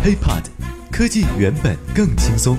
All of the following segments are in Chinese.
HeyPod， 科技原本更轻松。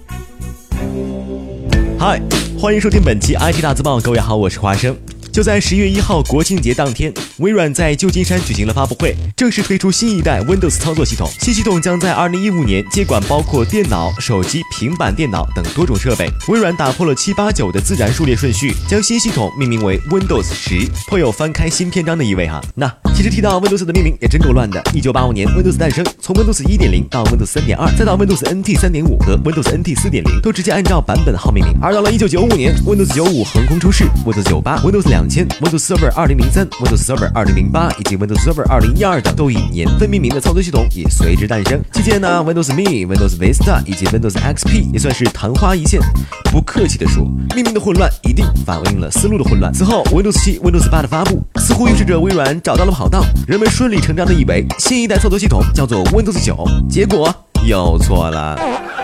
嗨，欢迎收听本期 IT 大字报，各位好，我是华生。就在10月1号国庆节当天，微软在旧金山举行了发布会，正式推出新一代 Windows 操作系统。新系统将在2015年接管包括电脑、手机、平板电脑等多种设备。微软打破了789的自然数列顺序，将新系统命名为 Windows 10，颇有翻开新篇章的意味哈。那其实提到 Windows 的命名也真够乱的。1985年 Windows 诞生，从 Windows 1.0 到 Windows 3.2， 再到 Windows NT 3.5 和 Windows NT 4.0， 都直接按照版本号命名。而到了1995年 Windows 95横空出世， Windows 98、 Windows 2000、 Windows Server 2003、 Windows Server 2008以及 Windows Server 2012等都以年份命名的操作系统也随之诞生。期间呢 Windows Me、Windows Vista 以及 Windows XP 也算是昙花一现。不客气地说，命名的混乱一定反映了思路的混乱。此后 Windows 7、Windows 8的发布，似乎预示着微软找到了跑道，人们顺理成章地以为新一代操作系统叫做 Windows 9，结果又错了。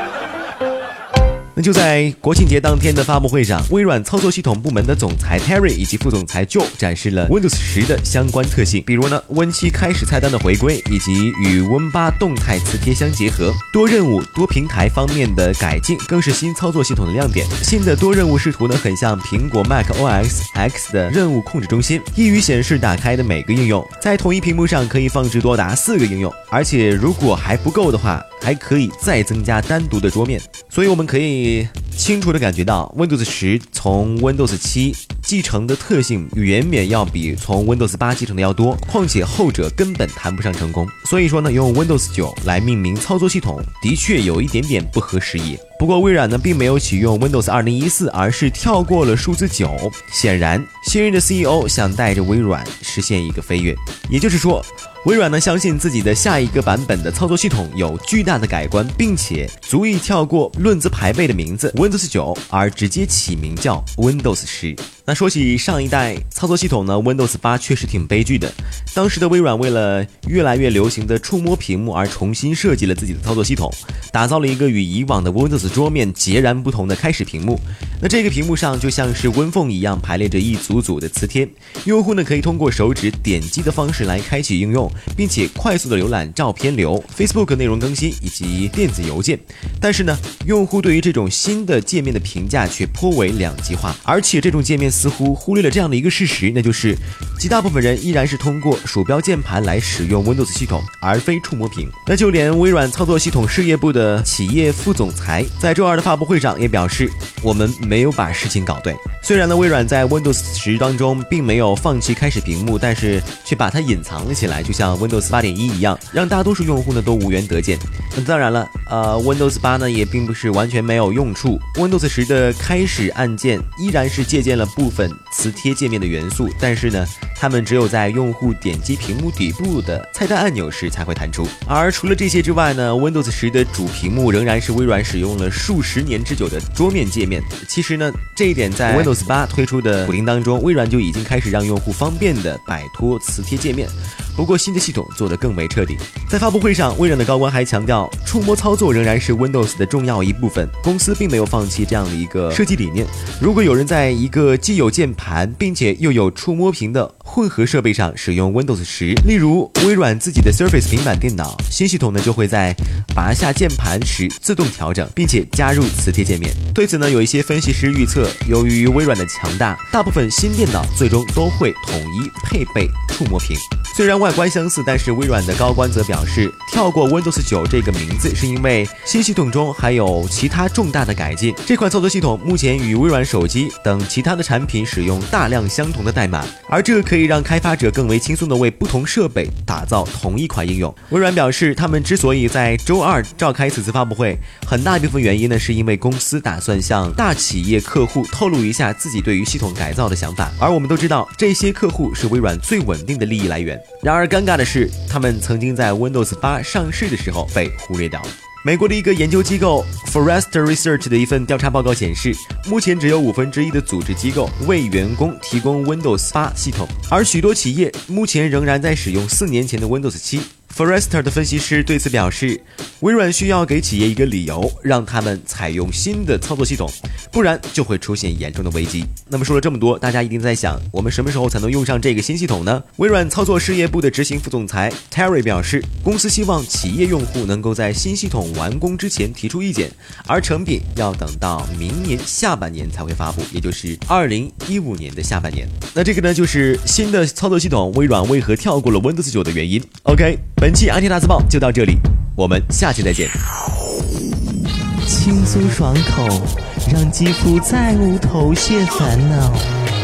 那就在国庆节当天的发布会上，微软操作系统部门的总裁 Terry 以及副总裁 Joe 展示了 Windows 10的相关特性，比如呢 Win7 开始菜单的回归，以及与 Win8 动态磁贴相结合，多任务多平台方面的改进更是新操作系统的亮点。新的多任务视图呢，很像苹果 Mac OS X 的任务控制中心，易于显示打开的每个应用，在同一屏幕上可以放置多达4个应用，而且如果还不够的话，还可以再增加单独的桌面。所以我们可以清楚地感觉到 Windows 10从 Windows 7继承的特性远远要比从 Windows 8继承的要多，况且后者根本谈不上成功。所以说呢，用 Windows 9来命名操作系统的确有一点点不合时宜。不过微软呢并没有启用 Windows 2014，而是跳过了数字9。显然新任的 CEO 想带着微软实现一个飞跃，也就是说微软呢相信自己的下一个版本的操作系统有巨大的改观，并且足以跳过论资排辈的名字 Windows 9，而直接起名叫 Windows 10。那说起上一代操作系统呢 Windows 8确实挺悲剧的。当时的微软为了越来越流行的触摸屏幕而重新设计了自己的操作系统，打造了一个与以往的 Windows 桌面截然不同的开始屏幕。那这个屏幕上就像是温缝一样排列着一组组的磁贴，用户呢可以通过手指点击的方式来开启应用，并且快速的浏览照片流、Facebook 内容更新以及电子邮件。但是呢，用户对于这种新的界面的评价却颇为两极化，而且这种界面似乎忽略了这样的一个事实，那就是极大部分人依然是通过鼠标键盘来使用 Windows 系统，而非触摸屏。那就连微软操作系统事业部的企业副总裁在周二的发布会上也表示，我们没有把事情搞对。虽然呢，微软在 Windows 10当中并没有放弃开始屏幕，但是却把它隐藏了起来，就像 Windows 8.1一样，让大多数用户呢都无缘得见。那当然了，Windows 8呢也并不是完全没有用处。Windows 10的开始按键依然是借鉴了部分磁贴界面的元素，但是呢，它们只有在用户点击屏幕底部的菜单按钮时才会弹出。而除了这些之外呢 ，Windows 10的主屏幕仍然是微软使用了数十年之久的桌面界面。其实呢，这一点在 Windows 8推出的补丁当中，微软就已经开始让用户方便的摆脱磁贴界面。不过新的系统做得更为彻底。在发布会上，微软的高官还强调，触摸操作仍然是 Windows 的重要一部分，公司并没有放弃这样的一个设计理念。如果有人在一个既有键盘并且又有触摸屏的混合设备上使用 Windows 10，例如微软自己的 Surface 平板电脑，新系统呢就会在拔下键盘时自动调整，并且加入磁贴界面。对此呢，有一些分析师预测，由于微软的强大，大部分新电脑最终都会统一配备触摸屏。虽然外观相似，但是微软的高官则表示，跳过 Windows 9这个名字是因为新系统中还有其他重大的改进。这款操作系统目前与微软手机等其他的产品使用大量相同的代码，而这可以让开发者更为轻松地为不同设备打造同一款应用。微软表示，他们之所以在周二召开此次发布会，很大一部分原因呢，是因为公司打算向大企业客户透露一下自己对于系统改造的想法，而我们都知道，这些客户是微软最稳定的利益来源。然而尴尬的是，他们曾经在 Windows 8上市的时候被忽略掉了。美国的一个研究机构 Forrester Research 的一份调查报告显示，目前只有1/5的组织机构为员工提供 Windows 8系统，而许多企业目前仍然在使用4年前的 Windows 7。Forrester 的分析师对此表示， 微软需要给企业一个理由，让他们采用新的操作系统，不然就会出现严重的危机。那么说了这么多，大家一定在想，我们什么时候才能用上这个新系统呢？微软操作事业部的执行副总裁 Terry 表示，公司希望企业用户能够在新系统完工之前提出意见，而成品要等到明年下半年才会发布，也就是2015年的下半年。那这个呢，就是新的操作系统微软为何跳过了 Windows 9的原因。OK， 本期 IT 大字报就到这里，我们下期再见。 轻松爽口，让肌肤再无头屑烦恼。